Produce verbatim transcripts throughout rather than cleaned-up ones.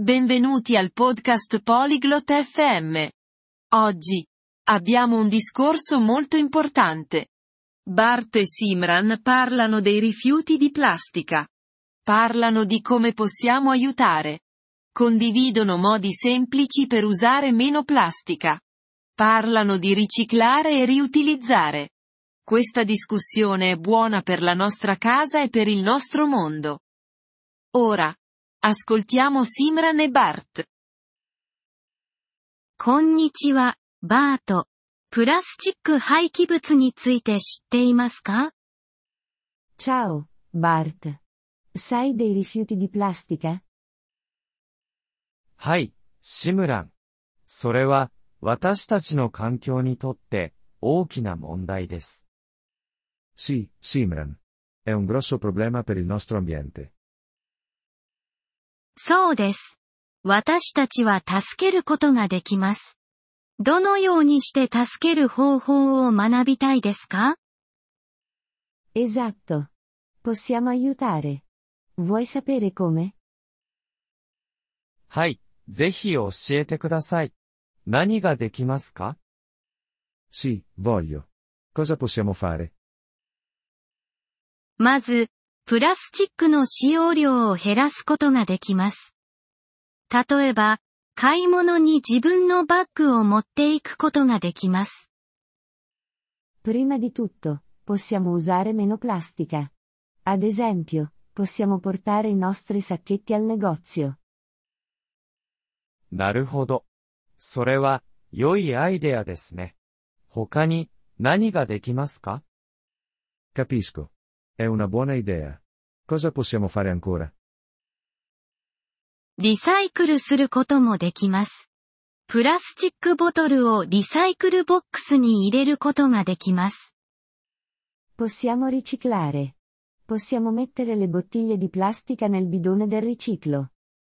Benvenuti al podcast Polyglot F M. Oggi abbiamo un discorso molto importante. Bart e Simran parlano dei rifiuti di plastica. Parlano di come possiamo aiutare. Condividono modi semplici per usare meno plastica. Parlano di riciclare e riutilizzare. Questa discussione è buona per la nostra casa e per il nostro mondo. Ora, ascoltiamo Simran e Bart. こんにちは、バート。プラスチック廃棄物について知っていますか？ Ciao, Bart. Sai dei rifiuti di plastica? はい、シムラン。それは、私たちの環境にとって大きな問題です。 Sì, Simran. È un grosso problema per il nostro ambiente. そうです。私たちは助けることができます。どのようにして助ける方法を学びたいですか？ Esatto. Possiamo aiutare. Vuoi sapere come? はい、ぜひ教えてください。何ができますか？ Sì, voglio. Cosa possiamo fare? まず、プラスチックの使用量を減らすことができます。例えば、買い物に自分のバッグを持っていくことができます。 Prima di tutto, possiamo usare meno plastica. Ad esempio, possiamo portare i nostri sacchetti al negozio. なるほど。それは、良いアイデアですね。他に、何ができますか？ Capisco. È una buona idea. Cosa possiamo fare ancora? リサイクルすることもできます。プラスチックボトルをリサイクルボックスに入れることができます。 Possiamo riciclare. Possiamo mettere le bottiglie di plastica nel bidone del riciclo.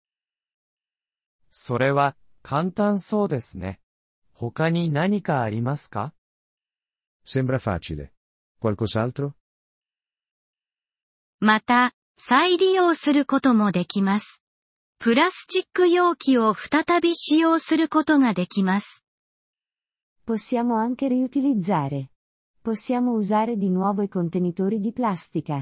それは、簡単そうですね。他に何かありますか？ Sembra facile. Qualcos'altro? また、再利用することもできます。プラスチック容器を再び使用することができます。 Possiamo anche riutilizzare. Possiamo usare di nuovo i contenitori di plastica.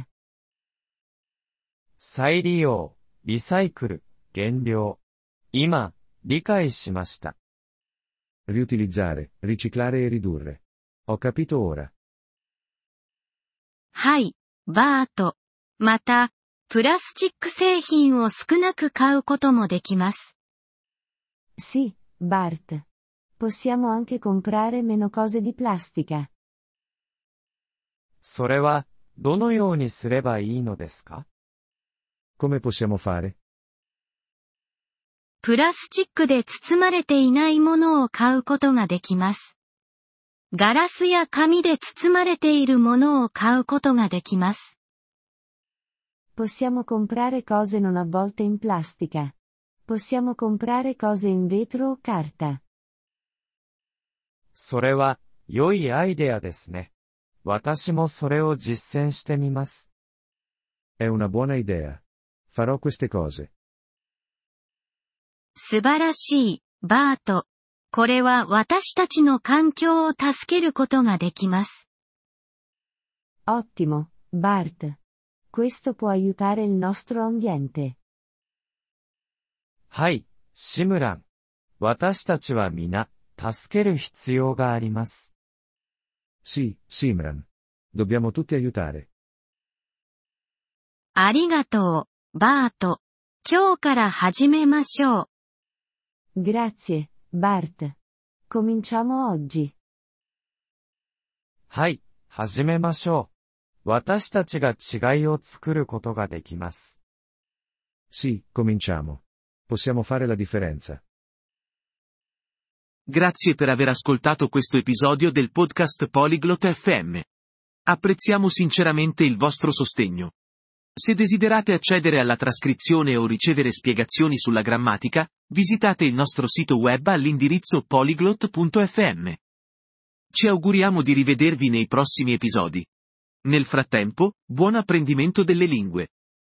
再利用、リサイクル、減量。今、理解しました。 Riutilizzare, riciclare e ridurre. Ho capito ora. はい、バート。また、プラスチック製品を少なく買うこともできます。 Sì, Bart. Possiamo anche comprare meno cose di plastica. それは、どのようにすればいいのですか？ Come possiamo fare? プラスチックで包まれていないものを買うことができます。ガラスや紙で包まれているものを買うことができます。 Possiamo comprare cose non avvolte in plastica. Possiamo comprare cose in vetro o carta. それは、良いアイデアですね。私もそれを実践してみます。 È una buona idea. Farò queste cose. 素晴らしい、バート。これは私たちの環境を助けることができます。 Ottimo, Bart. Questo può aiutare il nostro ambiente. はい、シムラン。私たちは皆、助ける必要があります。 Sì, Simran. Dobbiamo tutti aiutare. ありがとう、バート。今日から始めましょう。 Grazie, Bart. Cominciamo oggi. はい、始めましょう。私たちが違いを作ることができます。 Sì, cominciamo. Possiamo fare la differenza. Grazie per aver ascoltato questo episodio del podcast Polyglot F M. Apprezziamo sinceramente il vostro sostegno. Se desiderate accedere alla trascrizione o ricevere spiegazioni sulla grammatica, visitate il nostro sito web all'indirizzo polyglot punto f m. Ci auguriamo di rivedervi nei prossimi episodi. Nel frattempo, buon apprendimento delle lingue.